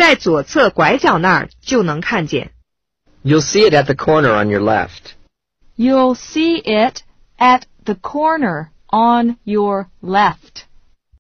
在左侧拐角那儿就能看见。 You'll see it at the corner on your left. You'll see it at the corner on your left.